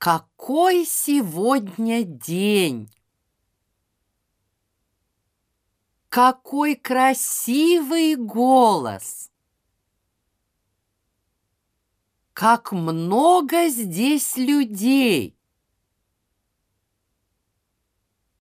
Какой сегодня день! Какой красивый голос! Как много здесь людей!